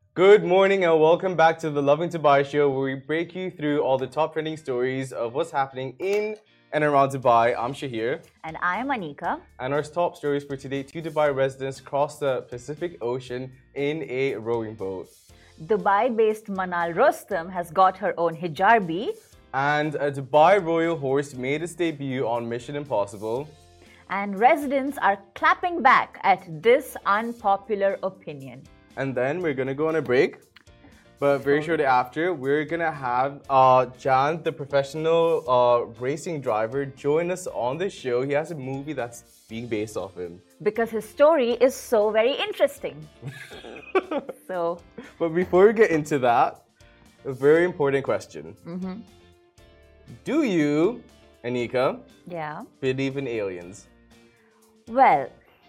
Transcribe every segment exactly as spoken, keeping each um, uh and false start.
Good morning and welcome back to the Loving Dubai show where we break you through all the top trending stories of what's happening in and around Dubai. I'm Shahir. And I'm Anika. And our top stories for today, two Dubai residents cross the Pacific Ocean in a rowing boat. Dubai-based Manal Rostam has got her own hijabi. And a Dubai royal horse made its debut on Mission Impossible. And residents are clapping back at this unpopular opinion. And then we're gonna go on a break. But very shortly after, we're gonna have uh, Jan, the professional uh, racing driver, join us on the show. He has a movie that's being based off him. Because his story is so very interesting. so. But before we get into that, a very important question. Mm-hmm. Do you, Anika, yeah. believe in aliens? Well,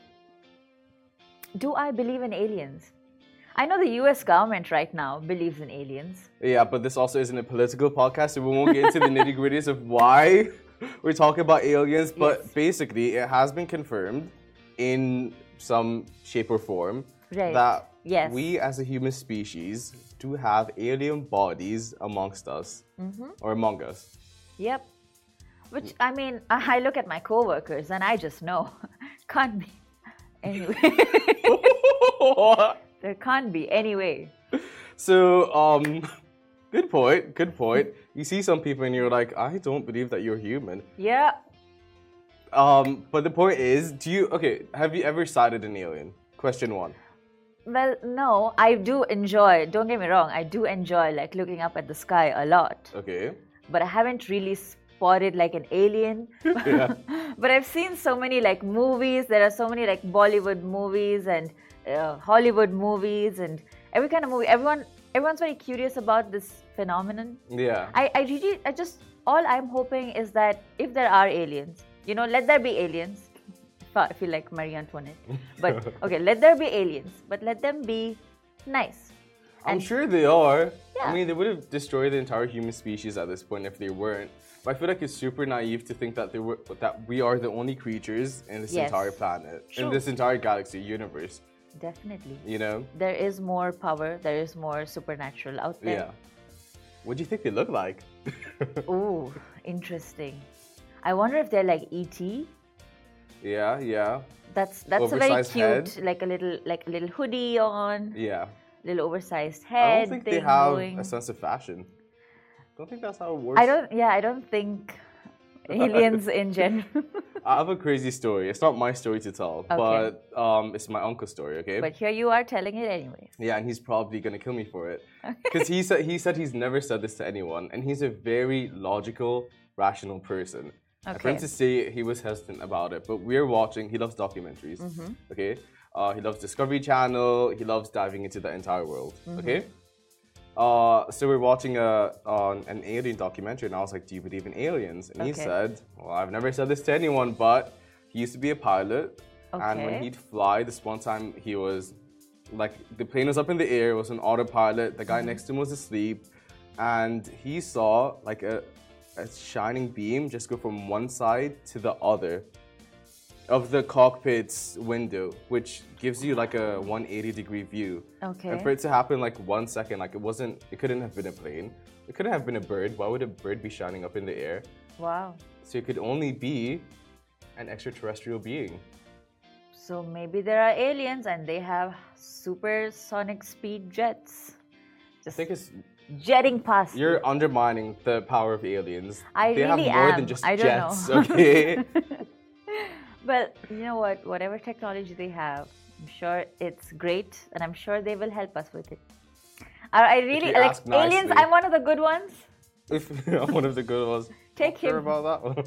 do I believe in aliens? I know the U S government right now believes in aliens. Yeah, but this also isn't a political podcast, so we won't get into the nitty gritties of why we're talking about aliens. But yes. basically, it has been confirmed in some shape or form right. that yes. we as a human species do have alien bodies amongst us, mm-hmm. or among us. Yep. Which, I mean, I look at my coworkers and I just know. Can't be. Anyway. There can't be. Anyway. So, um, good point. Good point. You see some people and you're like, I don't believe that you're human. Yeah. Um, but the point is, do you, okay, have you ever sighted an alien? Question one. Well, no, I do enjoy, don't get me wrong, I do enjoy like looking up at the sky a lot. Okay. But I haven't really spotted like an alien. Yeah. But I've seen so many like movies, there are so many like Bollywood movies and uh, Hollywood movies and every kind of movie. Everyone, everyone's very curious about this phenomenon. Yeah. I, I really, I just, all I'm hoping is that if there are aliens, you know, let there be aliens. I feel like Marie Antoinette. But, okay, let there be aliens, but let them be nice. I'm And- sure they are. Yeah. I mean, they would have destroyed the entire human species at this point if they weren't. But I feel like it's super naive to think that they were that we are the only creatures in this Yes. entire planet, True. in this entire galaxy, universe. Definitely. You know? There is more power, there is more supernatural out there. Yeah. What do you think they look like? Ooh, interesting. I wonder if they're like E T. Yeah, yeah, That's that's a very Oversized cute, head. like a little like a little hoodie on, yeah. little oversized I head don't think thing they have going. a sense of fashion. Don't think that's how it works. I don't. Yeah, I don't think aliens in general. I have a crazy story. It's not my story to tell, but um, it's my uncle's story. Okay. But here you are telling it anyways. Yeah, and he's probably gonna kill me for it because he said he said he's never said this to anyone, and he's a very logical, rational person. And for him Okay. to say he was hesitant about it, but we're watching. He loves documentaries. Mm-hmm. Okay. Uh, he loves Discovery Channel. He loves diving into the entire world. Mm-hmm. Okay. Uh, so we're watching a on an alien documentary, and I was like, "Do you believe in aliens?" And he Okay. said, "Well, I've never said this to anyone, but he used to be a pilot, and when Okay. he'd fly, this one time he was like the plane was up in the air, it was an autopilot. The guy next to him was asleep, and he saw like a a shining beam just go from one side to the other of the cockpit's window, which gives you like a one hundred eighty degree view. Okay. And for it to happen like one second, like it wasn't, it couldn't have been a plane. It couldn't have been a bird. Why would a bird be shining up in the air? Wow. So it could only be an extraterrestrial being. So maybe there are aliens and they have supersonic speed jets. I Just think it's, jetting past. you. you're undermining the power of aliens. I they really have more am. than just I don't jets, know. okay? But you know what? Whatever technology they have, I'm sure it's great, and I'm sure they will help us with it. I, I really you like ask aliens. nicely. I'm one of the good ones. If one of the good ones. Take Not sure him. about that one.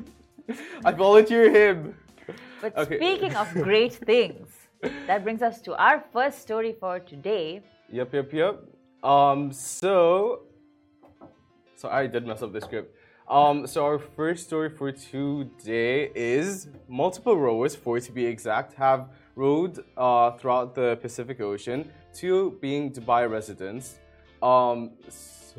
I volunteer him. But Okay. speaking of great things, that brings us to our first story for today. Yep, yep, yep. Um, so, so I did mess up the script. Um, so our first story for today is multiple rowers, four to be exact, have rowed uh, throughout the Pacific Ocean, two being Dubai residents. Um,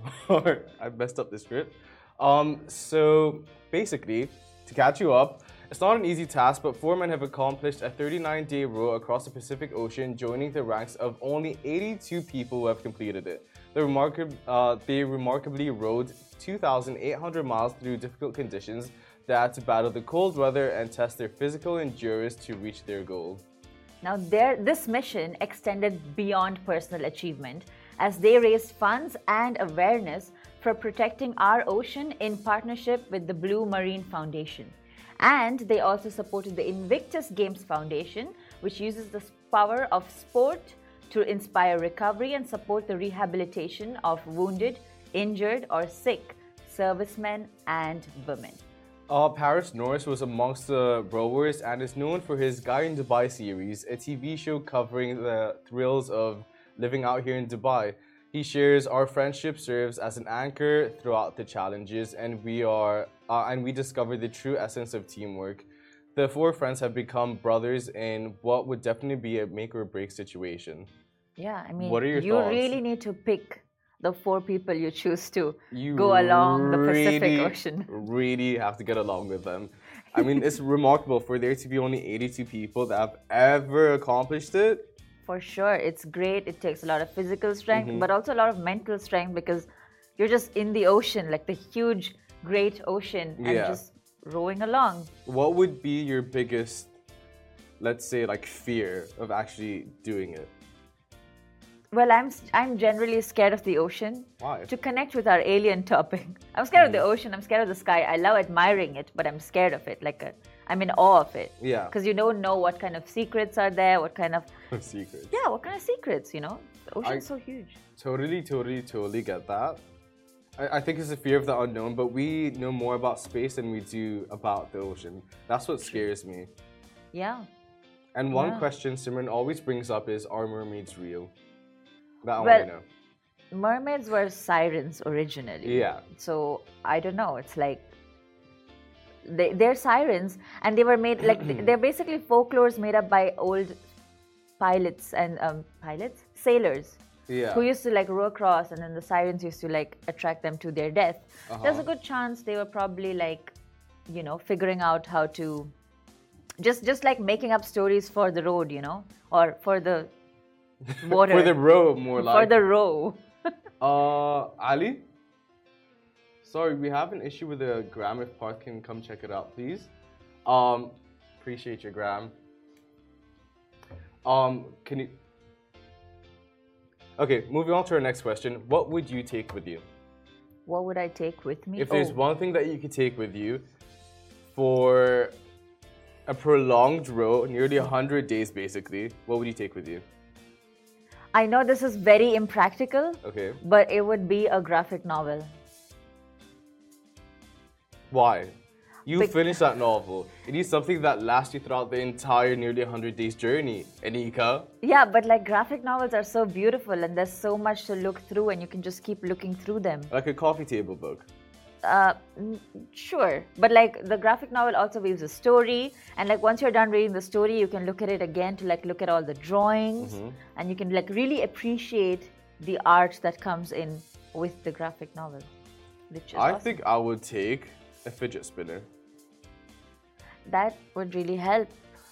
so I messed up the script. Um, so basically, to catch you up, It's not an easy task, but four men have accomplished a thirty-nine day row across the Pacific Ocean, joining the ranks of only eighty-two people who have completed it. The remarkab- uh, they remarkably rowed two thousand eight hundred miles through difficult conditions. They had to battle the cold weather and test their physical endurance to reach their goal. Now, their, this mission extended beyond personal achievement as they raised funds and awareness for protecting our ocean in partnership with the Blue Marine Foundation. And they also supported the Invictus Games Foundation, which uses the power of sport to inspire recovery and support the rehabilitation of wounded, injured, or sick servicemen and women. Uh, Paris Norris was amongst the rowers and is known for his Guy in Dubai series, a T V show covering the thrills of living out here in Dubai. He shares our friendship serves as an anchor throughout the challenges, and we are uh, and we discover the true essence of teamwork. The four friends have become brothers in what would definitely be a make or break situation. Yeah, I mean, What are your you thoughts? really need to pick the four people you choose to You go along the Pacific really, Ocean. really have to get along with them. I mean, it's remarkable for there to be only eighty-two people that have ever accomplished it. For sure, it's great. It takes a lot of physical strength, Mm-hmm. but also a lot of mental strength because you're just in the ocean, like the huge, great ocean, and Yeah. just rowing along. What would be your biggest, let's say, like fear of actually doing it? Well, I'm I'm generally scared of the ocean. Why? To connect with our alien topic, I'm scared of the ocean. I'm scared of the sky. I love admiring it, but I'm scared of it. Like a, I'm in awe of it. Yeah. Because you don't know what kind of secrets are there. What kind of Secrets. yeah, what kind of secrets? You know, the ocean's I- so huge. Totally, totally, totally get that. I, I think it's a fear of the unknown, but we know more about space than we do about the ocean. That's what scares me. Yeah. And one Yeah. question Simran always brings up is, are mermaids real? That I Well, want to know. Mermaids were sirens originally. Yeah. So I don't know. It's like they, they're sirens, and they were made like they're basically folklores made up by old pilots and um, pilots, sailors, Yeah. who used to like row across, and then the sirens used to like attract them to their death. There's a Uh-huh. good chance they were probably like, you know, figuring out how to just just like making up stories for the road, you know, or for the water, For the row, more like. for the row. Uh, Ali? Sorry, we have an issue with the gram. If Parth can come check it out, please. Um, appreciate your gram. Um, can you... Okay, moving on to our next question. What would you take with you? What would I take with me? If there's Oh, one thing that you could take with you for a prolonged row, nearly one hundred days basically, what would you take with you? I know this is very impractical, Okay. but it would be a graphic novel. Why? You Bec- finish that novel. It needs something that lasts you throughout the entire nearly one hundred days journey. Anika. Yeah, but like graphic novels are so beautiful and there's so much to look through and you can just keep looking through them. Like a coffee table book. Uh, n- sure, but like the graphic novel also weaves a story, and like once you're done reading the story, you can look at it again to like look at all the drawings, and you can like really appreciate the art that comes in with the graphic novel. Which is I awesome. think I would take a fidget spinner. That would really help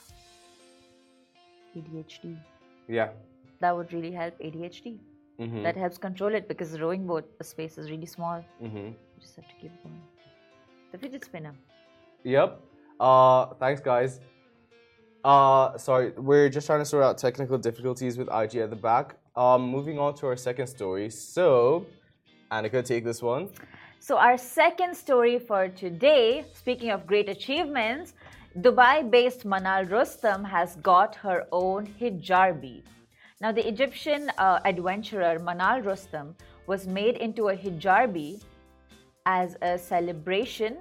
A D H D. Yeah. That would really help A D H D. Mm-hmm. That helps control it because the rowing boat, the space is really small. Mm-hmm. You just have to keep going. The fidget spinner. Yep. Uh, thanks, guys. Uh, sorry, we're just trying to sort out technical difficulties with I G at the back. Um, moving on to our second story. So, Annika, take this one. So our second story for today, speaking of great achievements, Dubai-based Manal Rustam has got her own hijabi. Now the Egyptian uh, adventurer Manal Rustam was made into a hijabi as a celebration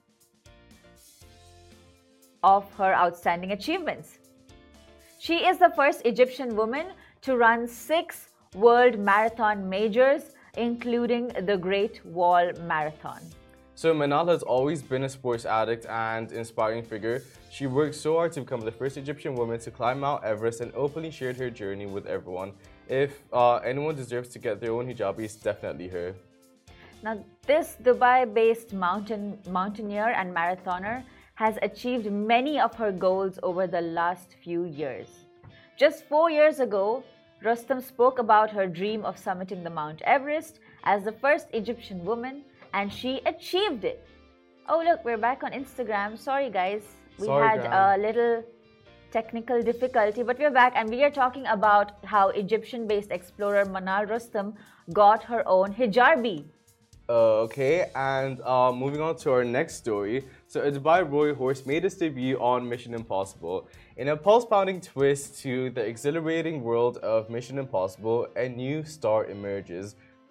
of her outstanding achievements. She is the first Egyptian woman to run six world marathon majors, including the Great Wall Marathon. So Manal has always been a sports addict and inspiring figure. She worked so hard to become the first Egyptian woman to climb Mount Everest and openly shared her journey with everyone. If uh, anyone deserves to get their own hijabi, it's definitely her. Now, this Dubai-based mountain mountaineer and marathoner has achieved many of her goals over the last few years. Just four years ago, Rostam spoke about her dream of summiting the Mount Everest as the first Egyptian woman, and she achieved it. Oh look, we're back on Instagram. Sorry guys, we Sorry, had Graham. a little technical difficulty, but we're back and we are talking about how Egyptian-based explorer Manal Rostam got her own hijabi. Uh, okay, and uh, moving on to our next story. So, a Dubai Royal horse made its debut on Mission Impossible. In a pulse-pounding twist to the exhilarating world of Mission Impossible, a new star emerges.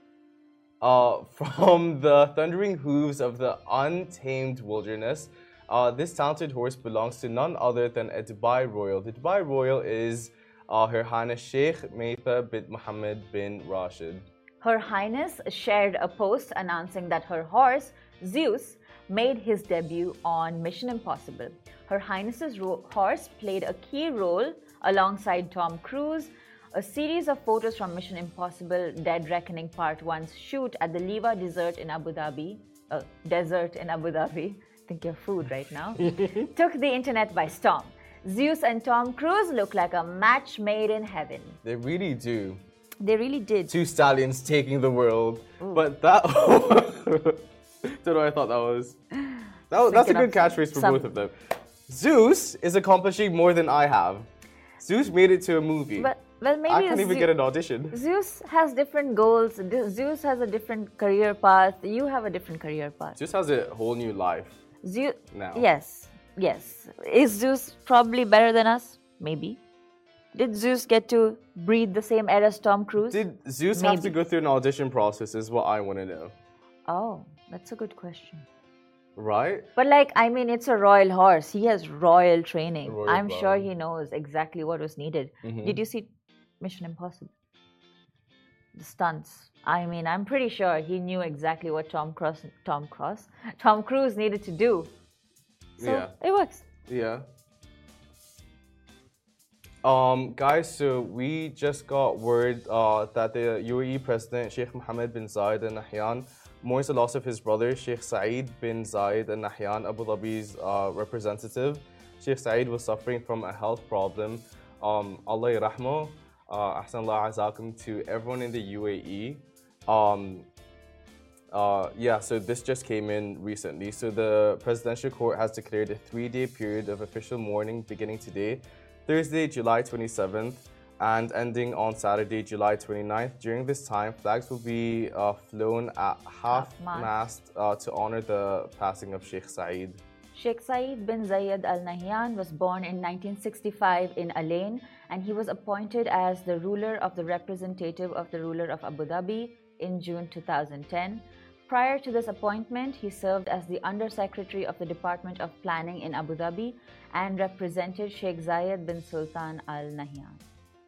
Uh, from the thundering hooves of the untamed wilderness, uh, this talented horse belongs to none other than a Dubai Royal. The Dubai Royal is uh, Her Highness Sheikh Meitha bin Mohammed bin Rashid. Her Highness shared a post announcing that her horse, Zeus, made his debut on Mission Impossible. Her Highness's ro- horse played a key role alongside Tom Cruise. A series of photos from Mission Impossible Dead Reckoning Part one's shoot at the Liwa Desert in Abu Dhabi, uh, desert in Abu Dhabi, think your food right now, took the internet by storm. Zeus and Tom Cruise look like a match made in heaven. They really do. They really did. Two stallions taking the world. Ooh. But that... Don't know what I thought that was. That was that's a good catchphrase for some... both of them. Zeus is accomplishing more than I have. Zeus made it to a movie. But, well, maybe I can't even Ze- get an audition. Zeus has different goals. Zeus has a different career path. You have a different career path. Zeus has a whole new life Zeus, now. Yes, yes. Is Zeus probably better than us? Maybe. Did Zeus get to breathe the same air as Tom Cruise? Did Zeus Maybe. have to go through an audition process is what I want to know. Oh, that's a good question. Right? But like, I mean, it's a royal horse. He has royal training. Royal I'm blood. sure he knows exactly what was needed. Mhm. Did you see Mission Impossible? The stunts. I mean, I'm pretty sure he knew exactly what Tom Cross, Tom Cross, Tom Cruise needed to do. So Yeah. it works. Yeah. Um, guys, so we just got word uh, that the U A E President Sheikh Mohammed bin Zayed Al Nahyan mourns the loss of his brother Sheikh Saeed bin Zayed Al Nahyan, Abu Dhabi's uh, representative. Sheikh Saeed was suffering from a health problem. Um, Allah yarahmo, uh, ahsan Allah azakum to everyone in the U A E. Um, uh, yeah, so this just came in recently. So the presidential court has declared a three-day period of official mourning beginning today, Thursday, July twenty-seventh, and ending on Saturday, July twenty-ninth. During this time, flags will be uh, flown at half-mast uh, to honor the passing of Sheikh Saeed. Sheikh Saeed bin Zayed Al Nahyan was born in nineteen sixty-five in Alain, and he was appointed as the ruler of the representative of the ruler of Abu Dhabi in June two thousand ten. Prior to this appointment, he served as the Under-Secretary of the Department of Planning in Abu Dhabi and represented Sheikh Zayed bin Sultan Al Nahyan.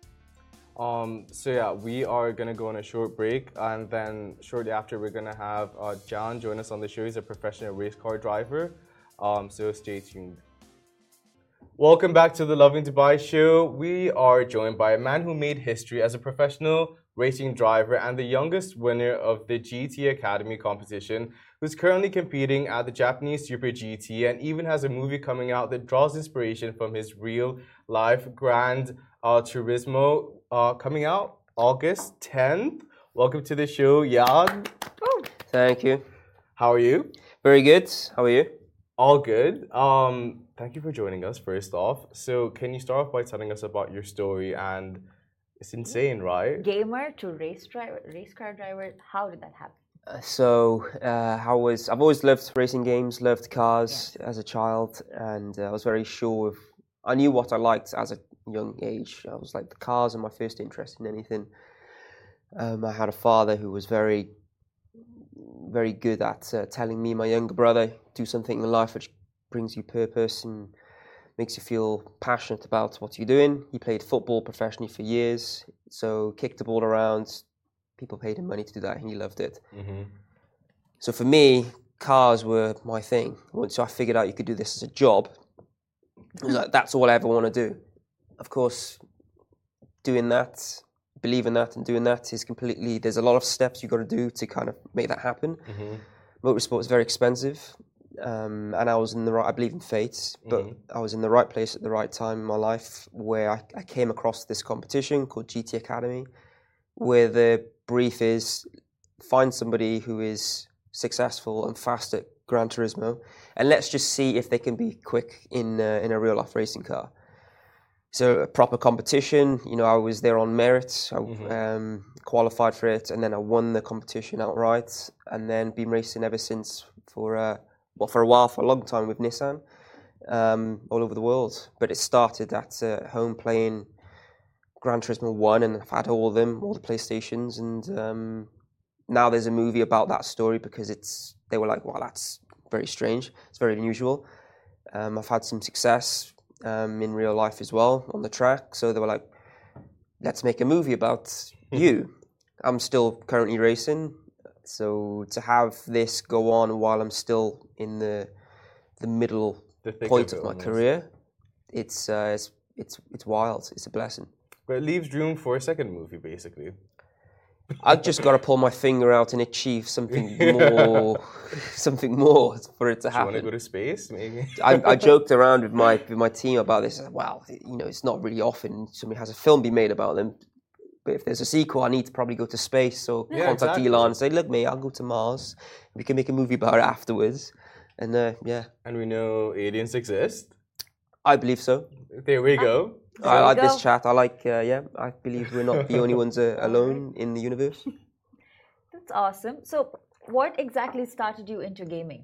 Um, so yeah, we are gonna go on a short break, and then shortly after, we're gonna have uh, John join us on the show. He's a professional race car driver. Um, so stay tuned. Welcome back to the Loving Dubai show. We are joined by a man who made history as a professional racing driver and the youngest winner of the G T Academy competition, who's currently competing at the Japanese Super G T and even has a movie coming out that draws inspiration from his real life, Gran uh, Turismo, uh, coming out August tenth. Welcome to the show, Jan. Thank you. How are you? Very good. How are you? All good. Um, thank you for joining us, first off. So can you start off by telling us about your story? And it's insane, right? Gamer to race driver, race car driver. How did that happen? Uh, so uh, I was, I've always loved racing games, loved cars as a child, and uh, I was very sure of, I knew what I liked as a young age. I was like, the cars are my first interest in anything. Um, I had a father who was very, very good at uh, telling me, my younger brother, do something in life which brings you purpose and makes you feel passionate about what you're doing. He played football professionally for years, so kicked the ball around. People paid him money to do that, and he loved it. Mm-hmm. So for me, cars were my thing. Once I figured out you could do this as a job, it was like, that's all I ever want to do. Of course, doing that, believing that and doing that is completely, there's a lot of steps you've got to do to kind of make that happen. Mm-hmm. Motorsport is very expensive. um, and I was in the right. I believe in fate, but mm-hmm. I was in the right place at the right time in my life, where I, I came across this competition called G T Academy, where the brief is find somebody who is successful and fast at Gran Turismo, and let's just see if they can be quick in uh, in a real life racing car. So a proper competition, you know, I was there on merit, I mm-hmm. um, qualified for it, and then I won the competition outright, and then been racing ever since for, uh, well, for a while, for a long time with Nissan, um, all over the world. But it started at uh, home playing Gran Turismo one, and I've had all of them, all the PlayStations, and um, now there's a movie about that story because it's, they were like, well, that's very strange, it's very unusual. Um, I've had some success Um, in real life as well on the track, so they were like, let's make a movie about you. I'm still currently racing, so to have this go on while I'm still in the the middle the point of, of my almost. career, it's, uh, it's it's it's wild. It's a blessing. But it leaves room for a second movie, basically. I've just got to pull my finger out and achieve something more, something more for it to happen. Do you want to go to space, maybe? I, I joked around with my with my team about this. I said, well, you know, it's not really often somebody has a film be made about them. But if there's a sequel, I need to probably go to space. So yeah, contact exactly. Elon and say, look, mate, I'll go to Mars. We can make a movie about it afterwards. And uh, yeah. And we know aliens exist? I believe so. There we go. I like this chat. I like, uh, yeah, I believe we're not the only ones uh, alone in the universe. That's awesome. So, what exactly started you into gaming?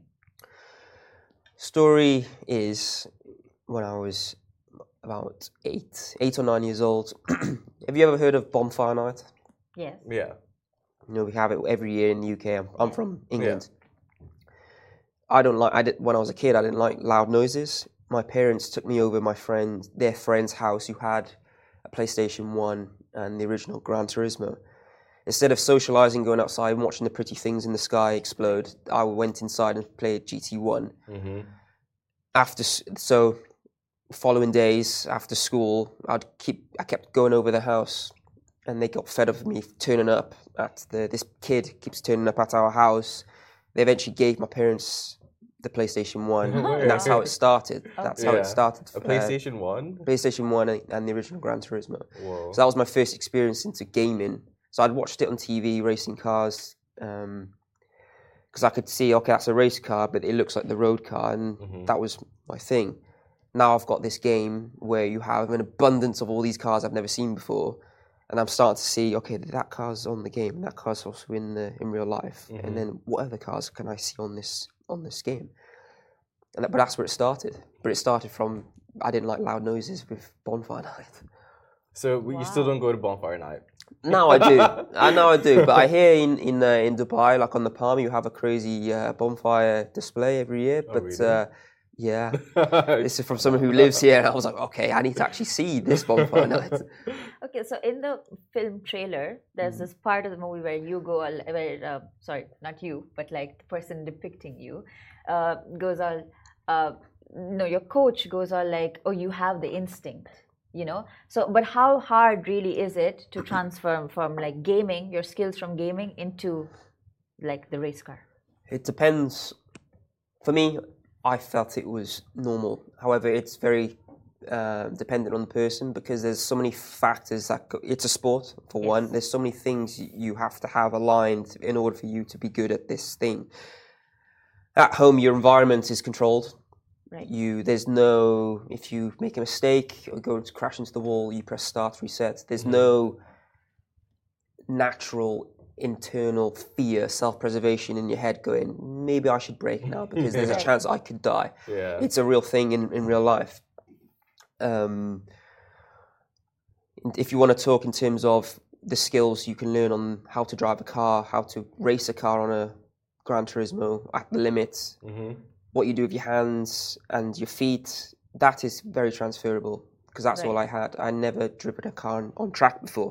Story is when I was about eight, eight or nine years old. Have you ever heard of Bonfire Night? Yes. Yeah. You know, we have it every year in the U K. I'm, I'm from England. Yeah. I don't like, I did, when I was a kid, I didn't like loud noises. My parents took me over my friend, their friend's house who had a PlayStation one and the original Gran Turismo. Instead of socializing, going outside and watching the pretty things in the sky explode, I went inside and played G T one. Mm-hmm. After, so following days after school, I'd keep, I kept going over the house, and they got fed up with me turning up at the, this kid keeps turning up at our house. They eventually gave my parents the PlayStation one, and that's how it started. That's yeah. how it started. A PlayStation uh, one? PlayStation one and the original Gran Turismo. Whoa. So that was my first experience into gaming. So I'd watched it on T V, racing cars, because um, I could see, okay, that's a race car, but it looks like the road car, and mm-hmm. that was my thing. Now I've got this game where you have an abundance of all these cars I've never seen before, and I'm starting to see, okay, that car's on the game, and that car's also in the in real life, mm-hmm. and then what other cars can I see on this on this game? And that, but that's where it started. But it started from, I didn't like loud noises with Bonfire Night. So wow. You still don't go to Bonfire Night? No, I do. I know I do. But I hear in in, uh, in Dubai, like on the Palm, you have a crazy uh, bonfire display every year. Oh, but really? uh, yeah, this is from someone who lives here. And I was like, okay, I need to actually see this Bonfire Night. Okay, so in the film trailer, there's mm-hmm. this part of the movie where you go, all, where uh, sorry, not you, but like the person depicting you, uh, goes all, uh, no, your coach goes all like, oh, you have the instinct. You know, so but how hard really is it to transfer from like gaming, your skills from gaming into like the race car? It depends. For me, I felt it was normal. However, it's very uh, dependent on the person because there's so many factors that go, it's a sport for yes. one. There's so many things you have to have aligned in order for you to be good at this thing. At home, your environment is controlled. Right. You there's no if you make a mistake or go to crash into the wall, you press start, reset. There's mm-hmm. no natural internal fear, self-preservation in your head going, maybe I should brake now because there's a chance I could die. Yeah. It's a real thing in, in real life. Um, if you want to talk in terms of the skills you can learn on how to drive a car, how to race a car on a Gran Turismo at the limits, mm-hmm. what you do with your hands and your feet, that is very transferable because that's right. all I had. I never driven a car on, on track before.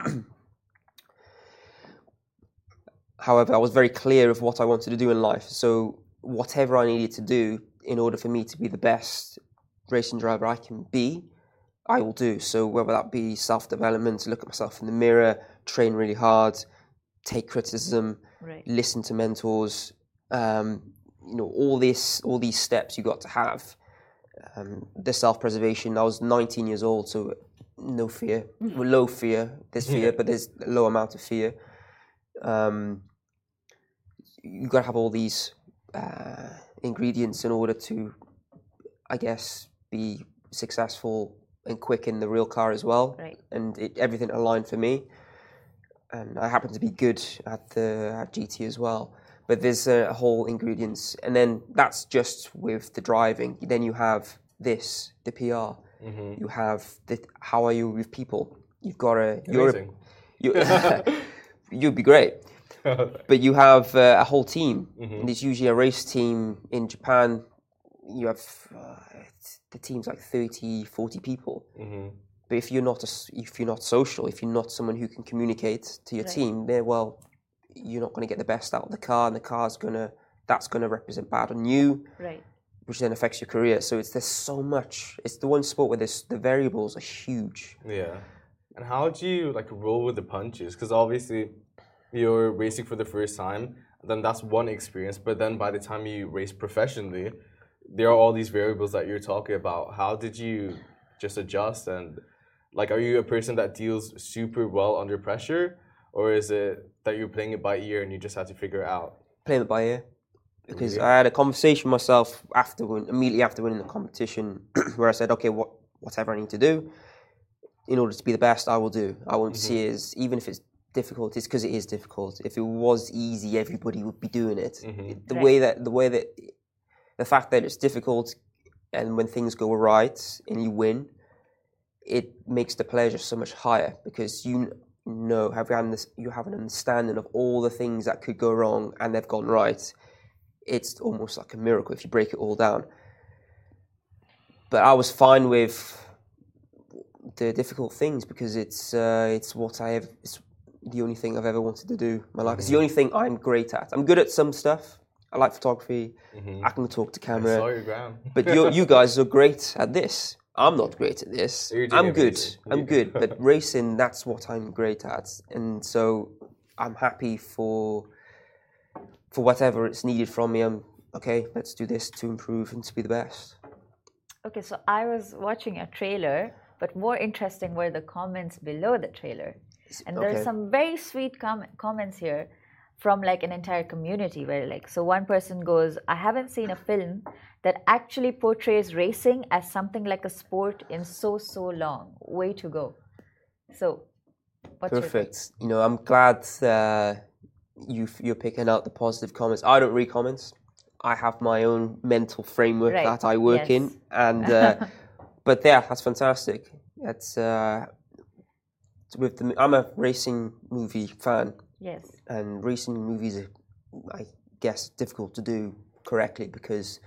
However, I was very clear of what I wanted to do in life. So whatever I needed to do in order for me to be the best racing driver I can be, I will do. So whether that be self-development, look at myself in the mirror, train really hard, take criticism, right. listen to mentors, um, you know, all this, all these steps you got to have. Um, the self-preservation. I was nineteen years old, so no fear, well, low fear. There's fear, but there's a low amount of fear. Um, you got to have all these uh, ingredients in order to, I guess, be successful and quick in the real car as well. Right. And it, everything aligned for me. And I happen to be good at the at G T as well. But there's a whole ingredients, and then that's just with the driving. Then you have this, the P R. Mm-hmm. You have the how are you with people? You've got a you're a, you, you'd be great, but you have uh, a whole team. Mm-hmm. And it's usually a race team in Japan. You have uh, the team's like thirty, forty people. Mm-hmm. But if you're not a, if you're not social, if you're not someone who can communicate to your right. team, then well. You're not going to get the best out of the car, and the car's gonna that's going to represent bad on you, right? Which then affects your career. So it's there's so much. It's the one sport where this the variables are huge. Yeah, and how do you like roll with the punches? Because obviously you're racing for the first time, then that's one experience. But then by the time you race professionally, there are all these variables that you're talking about. How did you just adjust? And like, are you a person that deals super well under pressure? Or is it that you're playing it by ear and you just have to figure it out? Playing it by ear. Because really? I had a conversation with myself after win, immediately after winning the competition where I said, okay, what, whatever I need to do in order to be the best, I will do. I won't mm-hmm. see it as, even if it's difficult, it's because it is difficult. If it was easy, everybody would be doing it. Mm-hmm. The right. way that, the way that, the fact that it's difficult and when things go right and you win, it makes the pleasure so much higher because you know, have you, this, you have an understanding of all the things that could go wrong and they've gone right. It's almost like a miracle if you break it all down. But I was fine with the difficult things because it's uh, it's what I have. It's the only thing I've ever wanted to do in my life. Mm-hmm. It's the only thing I'm great at. I'm good at some stuff. I like photography. Mm-hmm. I can talk to camera. I saw your gram. But you you guys are great at this. I'm not great at this. I'm good. I'm good. But racing, that's what I'm great at. And so I'm happy for for whatever it's needed from me. I'm okay, let's do this to improve and to be the best. Okay, so I was watching a trailer, but more interesting were the comments below the trailer. And there's okay. some very sweet com- comments here from like an entire community where like, so one person goes, I haven't seen a film that actually portrays racing as something like a sport in so, so long. Way to go. So, what's perfect. You know, I'm glad uh, you, you're picking out the positive comments. I don't read comments. I have my own mental framework right. that I work yes. in. And, uh, but yeah, that's fantastic. It's, uh, with the, I'm a racing movie fan. Yes. And racing movies are, I guess, difficult to do correctly because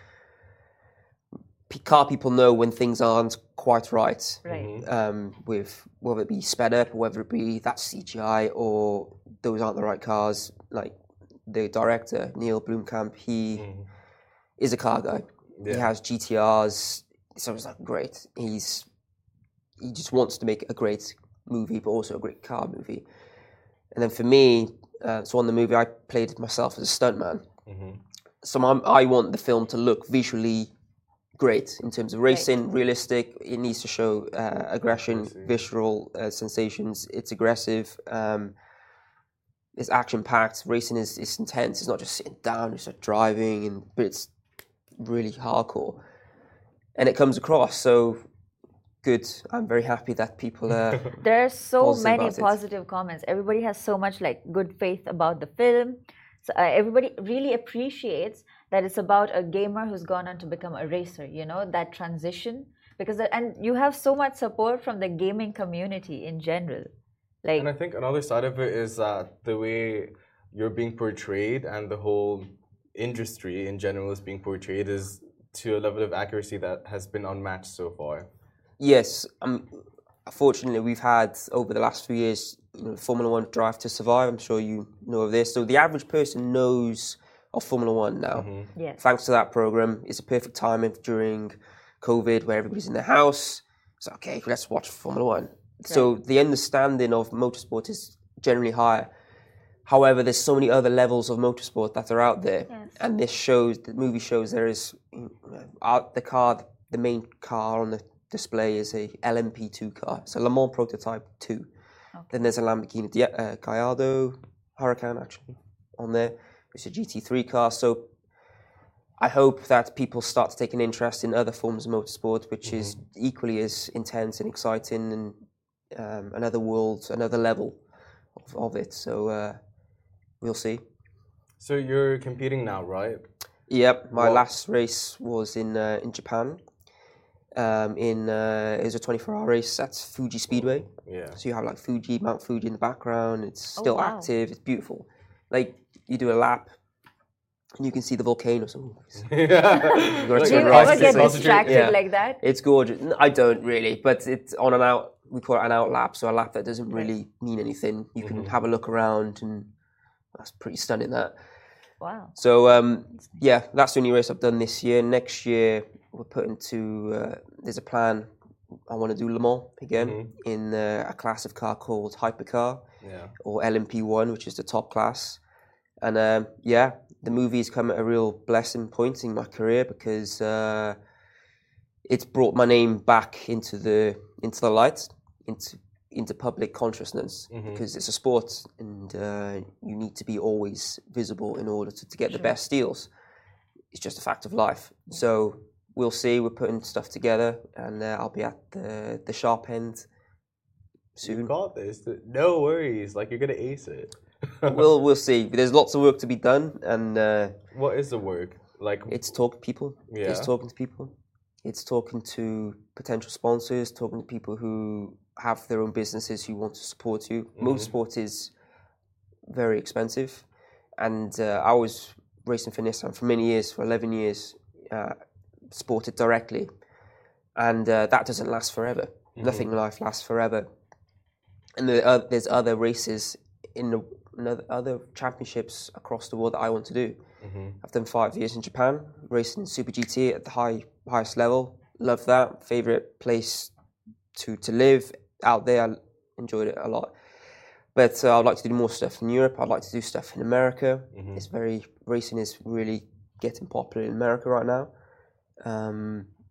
car people know when things aren't quite right. Right. Um, with whether it be sped up, or whether it be that's C G I, or those aren't the right cars. Like the director Neil Blomkamp, he mm. is a car guy. Yeah. He has G T Rs. So it's like great. He's he just wants to make a great movie, but also a great car movie. And then for me, uh, so on the movie, I played myself as a stuntman. Mm-hmm. So I'm, I want the film to look visually great in terms of racing, right. realistic. It needs to show uh, aggression, visceral uh, sensations. It's aggressive. Um, it's action-packed. Racing is, is intense. It's not just sitting down, it's like driving, and but it's really hardcore. And it comes across. So good. I'm very happy that people are. There are so many positive comments. Everybody has so much like good faith about the film. So uh, everybody really appreciates that it's about a gamer who's gone on to become a racer. You know, that transition, because that, and you have so much support from the gaming community in general. Like, and I think another side of it is that the way you're being portrayed and the whole industry in general is being portrayed is to a level of accuracy that has been unmatched so far. Yes, um, fortunately, we've had over the last few years, you know, Formula One Drive to Survive. I'm sure you know of this. So the average person knows of Formula One now. Mm-hmm. Yes. Thanks to that program, it's a perfect time during COVID where everybody's in their house. So okay, let's watch Formula One. Right. So the understanding of motorsport is generally higher. However, there's so many other levels of motorsport that are out there, Yes. and this shows, the movie shows there is uh, the car, the main car on the display is a L M P two car. It's a Le Mans Prototype two. Okay. Then there's a Lamborghini Di- uh, Gallardo Huracan actually on there. It's a G T three car. So I hope that people start to take an interest in other forms of motorsport, which mm-hmm. is equally as intense and exciting, and um, another world, another level of, of it. So uh, we'll see. So you're competing now, right? Yep. My What? last race was in uh, in Japan. Um, in uh, it was a twenty-four hour race at Fuji Speedway. Yeah. So you have like Fuji, Mount Fuji in the background. It's still Oh, wow. active. It's beautiful. Like you do a lap, and you can see the volcanoes. Ooh, yeah. gotta Do turn you right ever to get concentrate. distracted Yeah. like that? It's gorgeous. N- I don't really, but it's on an out. We call it an out lap, so a lap that doesn't really mean anything. You can have a look around, and that's pretty stunning. That. Wow. So um, yeah, that's the only race I've done this year. Next year we're putting to. Uh, there's a plan. I want to do Le Mans again Mm-hmm. in uh, a class of car called Hypercar, Yeah. or L M P one, which is the top class. And um, yeah, the movie's come at a real blessing point in my career because uh, it's brought my name back into the into the light, into into public consciousness, Mhm. because it's a sport and uh, you need to be always visible in order to, to get the best deals. It's just a fact of life. So we'll see. We're putting stuff together, and uh, I'll be at the the sharp end You soon. got this. No worries. Like you're gonna ace it. we'll we'll see. There's lots of work to be done, and uh, What is the work? Like it's talking to people. Yeah. It's talking to people. It's talking to potential sponsors, talking to people who have their own businesses who want to support you. Mm-hmm. Motorsport is very expensive, and uh, I was racing for Nissan for many years, for eleven years, uh, sported directly, and uh, that doesn't last forever. Mm-hmm. Nothing in life lasts forever, and there are, there's other races in the in other, other championships across the world that I want to do. Mm-hmm. I've done five years in Japan, racing in Super G T at the high highest level. Love that. Favorite place to, to live out there. I enjoyed it a lot. But uh, I'd like to do more stuff in Europe. I'd like to do stuff in America. Mm-hmm. It's very racing is really getting popular in America right now. Um,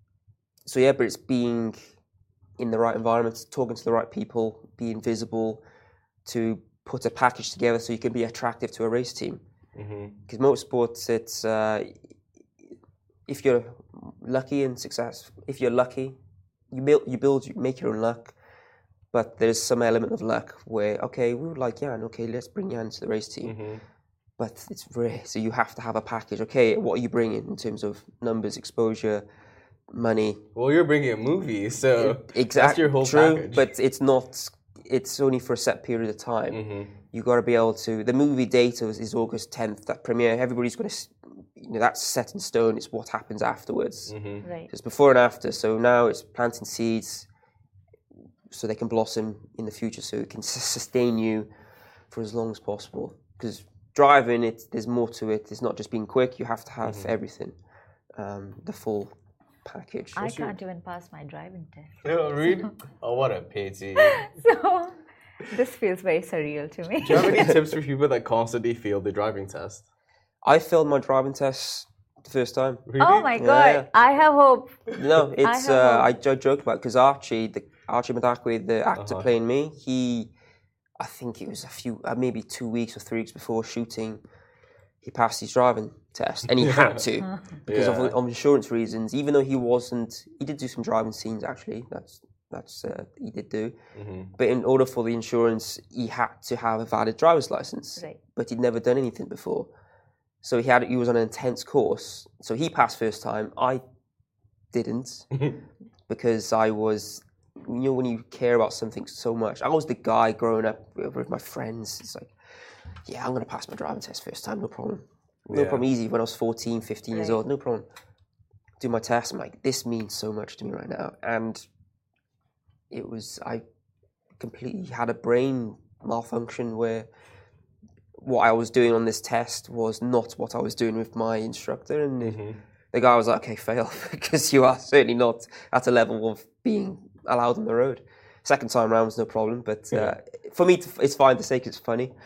so yeah, but it's being in the right environment, talking to the right people, being visible, to put a package together so you can be attractive to a race team. Because mm-hmm. motorsports, it's uh, if you're lucky and successful, if you're lucky, you build, you build, you make your own luck. But there's some element of luck where, okay, we would like Jan, okay, let's bring Jan to the race team. Mm-hmm. But it's rare, so you have to have a package. Okay, what are you bringing in terms of numbers, exposure, money? Well, you're bringing a movie, so exactly, that's your whole true, package. But it's not. It's only for a set period of time. Mm-hmm. You got to be able to. The movie date is, is August tenth. That premiere, everybody's going to. You know, that's set in stone. It's what happens afterwards. Mm-hmm. Right. It's before and after. So now it's planting seeds, so they can blossom in the future. So it can s- sustain you for as long as possible. Because driving, it there's more to it. It's not just being quick. You have to have mm-hmm. everything, um, the full package. I can't even pass my driving test. Oh, really? Oh, what a pity. So this feels very surreal to me. Do you have any tips for people that constantly fail the driving test? I failed my driving test the first time. Really? Oh my god! Yeah. I have hope. No, it's I, uh, I, I joke about because Archie, the Archie Madakwe, the actor Uh-huh. playing me, he, I think it was a few, uh, maybe two weeks or three weeks before shooting, he passed his driving test, and he had to because Yeah. of, of insurance reasons. Even though he wasn't, he did do some driving scenes actually. That's that's uh, he did do, Mm-hmm. but in order for the insurance, he had to have a valid driver's license. Right. But he'd never done anything before, so he had he was on an intense course. So he passed first time. I didn't because I was. You know, when you care about something so much, I was the guy growing up with my friends. It's like, yeah, I'm going to pass my driving test first time, no problem. No Yeah. problem, easy. When I was fourteen, fifteen years Right. old, no problem. Do my test, I'm like, this means so much to me right now. And it was, I completely had a brain malfunction where what I was doing on this test was not what I was doing with my instructor. And Mm-hmm. the guy was like, okay, fail, because you are certainly not at a level of being allowed on the road. Second time round was no problem, but uh, Yeah. for me, to, it's fine to say 'cause it's funny.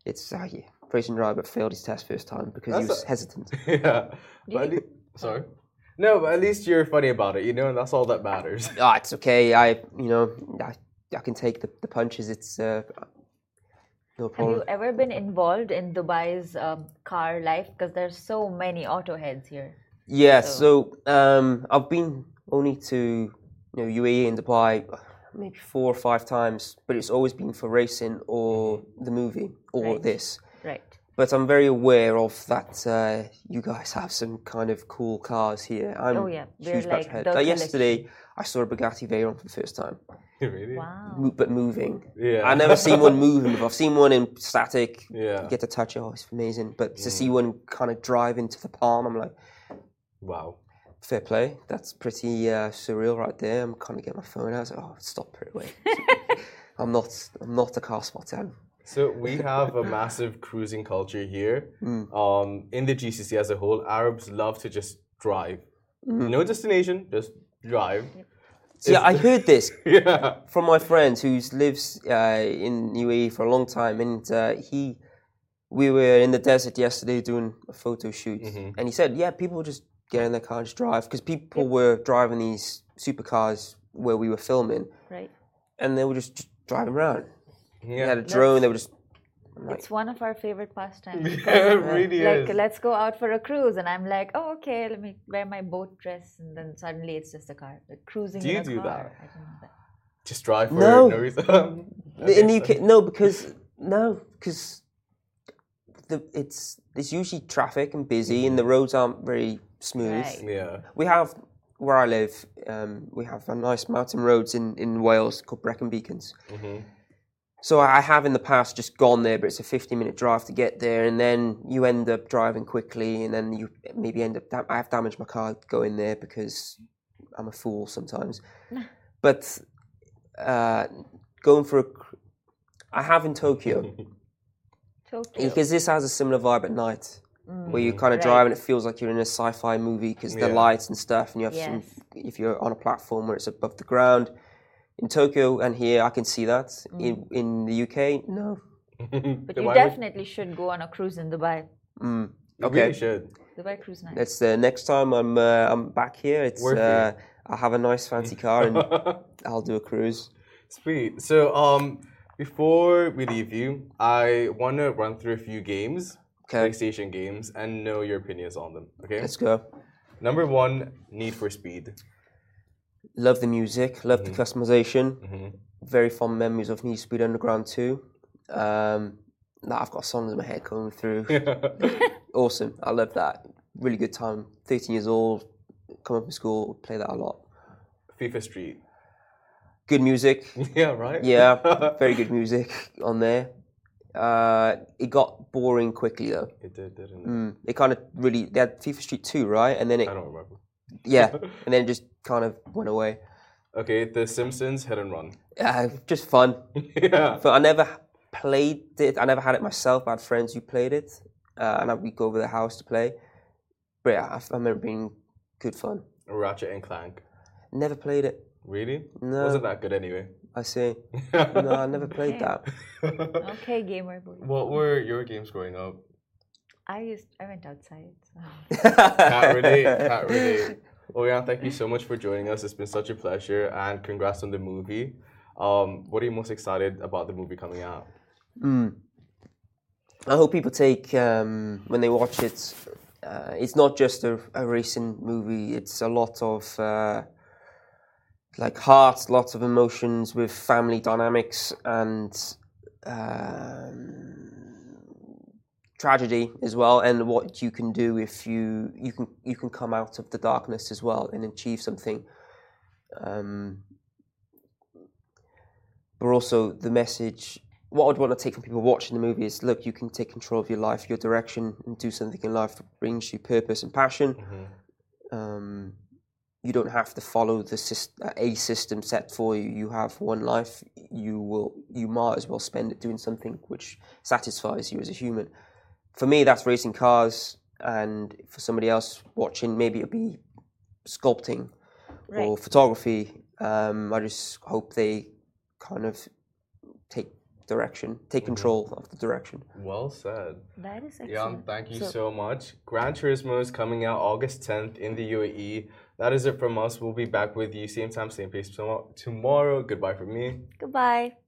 it's uh, yeah, racing driver failed his test first time because he That's was a- hesitant. Yeah. But at lea- sorry. No, but at least you're funny about it, you know, and that's all that matters. Ah, it's okay. I, you know, I, I can take the, the punches. It's uh, no Have problem. you ever been involved in Dubai's um, car life? Because there's so many auto heads here. Yeah. So- So um, I've been only to you know U A E and Dubai maybe four or five times, but it's always been for racing or the movie or Right. this. Right. But I'm very aware of that. Uh, you guys have some kind of cool cars here. I'm Oh, yeah. We're huge like Petrolhead. the Like yesterday, I saw a Bugatti Veyron for the first time, Really? Wow. Mo- but moving. Yeah. I've never seen one moving before. I've seen one in static. Yeah. You get to touch it. Oh, it's amazing. But to see one kind of drive into the palm, I'm like, Wow. fair play. That's pretty uh, surreal right there. I'm kind of getting my phone out. I was like, oh, stop it. Wait. I'm not. I'm not a car spotter. So we have a massive cruising culture here. Um, in the G C C as a whole, Arabs love to just drive. No destination, just drive. So yeah, I heard this Yeah. from my friend who lives uh, in U A E for a long time, and uh, he, we were in the desert yesterday doing a photo shoot, and he said, yeah, people just get in their car and just drive because people were driving these supercars where we were filming, Right. and they were just, just driving around. They Yeah. had a drone. They were just like, It's one of our favorite pastimes. Yeah, it really Like, is. let's go out for a cruise, and I'm like, oh, okay, let me wear my boat dress, and then suddenly it's just a car, like cruising Do in you a do car. that? I don't know that. Just drive for No. no reason. in the U K. No, because no, because the it's it's usually traffic and busy, and the roads aren't very smooth. Right. Yeah. We have where I live. Um, we have a nice mountain roads in, in Wales called Brecon Beacons. So I have in the past just gone there, but it's a fifteen minute drive to get there, and then you end up driving quickly, and then you maybe end up. Dam- I have damaged my car going there because I'm a fool sometimes. But uh, going for a, cr- I have in Tokyo Tokyo. because this has a similar vibe at night. Where you kind of Right. drive and it feels like you're in a sci-fi movie because the Yeah. lights and stuff, and you have some. Yes. If you're on a platform where it's above the ground, in Tokyo and here, I can see that. In in the U K, no. But Then you why would- definitely should go on a cruise in Dubai. Mm. You Okay, really should. Dubai cruise night. that's the next time I'm uh, I'm back here. It's Worth it. uh, I'll have a nice fancy car and I'll do a cruise. Sweet. So, um, before we leave you, I want to run through a few games, Okay. PlayStation games, and know your opinions on them. Okay. Let's go. Number one, Need for Speed. Love the music. Love the customization. Mm-hmm. Very fond memories of Need for Speed Underground two. Um, now I've got songs in my head coming through. Awesome. I love that. Really good time. thirteen years old. Come up from school. Play that a lot. FIFA Street. Good music. Yeah, right? Yeah, very good music on there. Uh, it got boring quickly though. It did, didn't it? Mm, it kind of really. They had FIFA Street two, right? And then it, I don't remember. yeah, and then it just kind of went away. Okay, The Simpsons Hit and Run. Uh, just fun. Yeah. But I never played it. I never had it myself. I had friends who played it, uh, and I, we'd go over their house to play. But yeah, I, I remember being good fun. Ratchet and Clank. Never played it. Really? No. Wasn't that good anyway? I see. No, I never played Okay. that. Okay, gamer boy. What were your games growing up? I used I went outside. So. Can't relate. Can't relate. Oyan, thank you so much for joining us. It's been such a pleasure, and congrats on the movie. Um, what are you most excited about the movie coming out? Mm. I hope people take um, when they watch it. Uh, it's not just a, a racing movie. It's a lot of uh, like heart, lots of emotions with family dynamics and um, tragedy as well, and what you can do if you you can you can come out of the darkness as well and achieve something. Um, but also the message. What I'd want to take from people watching the movie is, look, you can take control of your life, your direction, and do something in life that brings you purpose and passion. Um, you don't have to follow the syst- a system set for you. You have one life. You will. You might as well spend it doing something which satisfies you as a human. For me, that's racing cars, and for somebody else watching, maybe it'll be sculpting or Right. photography. Um, I just hope they kind of take direction, take control of the direction. Well said. That is excellent. Jan, thank you So- so much. Gran Turismo is coming out August tenth in the U A E. That is it from us. We'll be back with you same time, same place tomorrow. Goodbye from me. Goodbye.